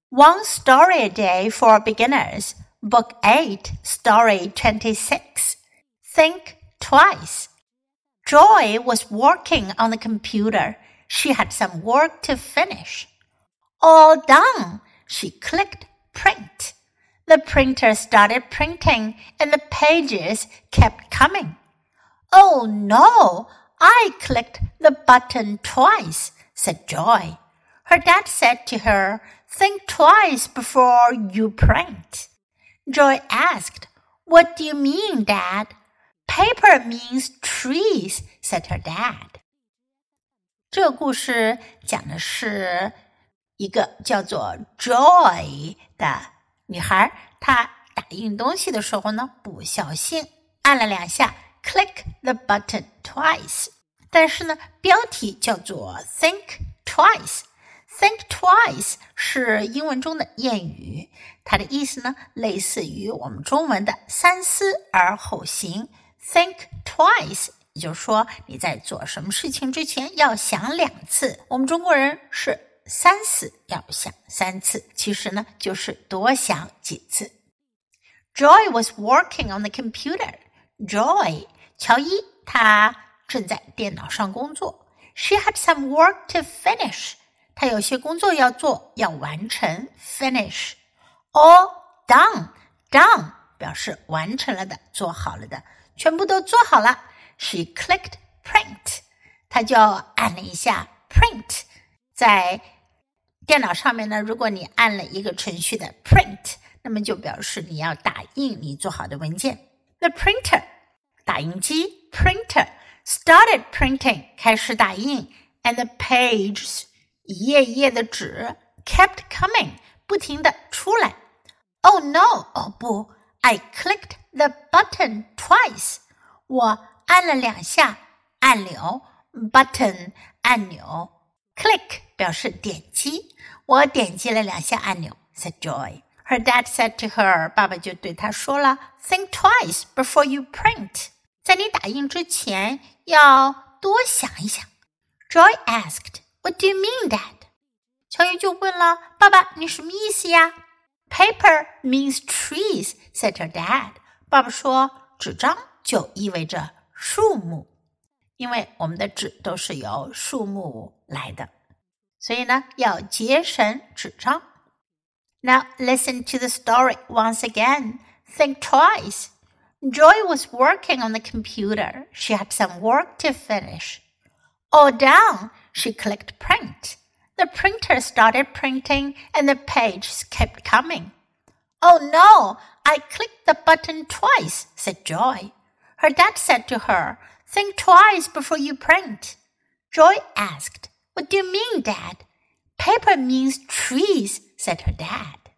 One Story a Day for Beginners, Book 8, Story 26. Think Twice. Joy was working on the computer. She had some work to finish. All done, she clicked print. The printer started printing and the pages kept coming. Oh no, I clicked the button twice, said Joy. Her dad said to her, Think twice before you print. Joy asked, What do you mean, Dad? Paper means trees, said her dad. 这个故事讲的是一个叫做 Joy 的女孩，她打印东西的时候呢，不小心按了2下 click the button twice。但是呢，标题叫做 Think Twice。Think twice 是英文中的谚语，它的意思呢，类似于我们中文的三思而后行。Think twice， 也就是说你在做什么事情之前要想2次。我们中国人是3思要想3次，其实呢就是多想几次。Joy was working on the computer. Joy， 乔伊，她正在电脑上工作。She had some work to finish.他有些工作要做，要完成 finish. All done 表示完成了的，做好了的，全部都做好了。She clicked print. 他就按了一下 print. 在电脑上面呢，如果你按了一个程序的 print, 那么就表示你要打印你做好的文件。The printer, 打印机 printer, started printing, 开始打印 and the pages一页一页的纸 kept coming 不停地出来 Oh no, 哦不 I clicked the button twice 我按了2下按钮 button 按钮 click 表示点击我点击了2下按钮 said Joy Her dad said to her 爸爸就对她说了 Think twice before you print 在你打印之前要多想一想 Joy asked,What do you mean, Dad? 乔伊就问了，爸爸，你什么意思呀 ？Paper means trees, said her dad. 爸爸说，纸张就意味着树木，因为我们的纸都是由树木来的，所以呢，要节省纸张。Now listen to the story once again. Think twice. Joy was working on the computer. She had some work to finish. All done.She clicked print. The printer started printing and the pages kept coming. Oh no, I clicked the button twice, said Joy. Her dad said to her, Think twice before you print. Joy asked, What do you mean, Dad? Paper means trees, said her dad.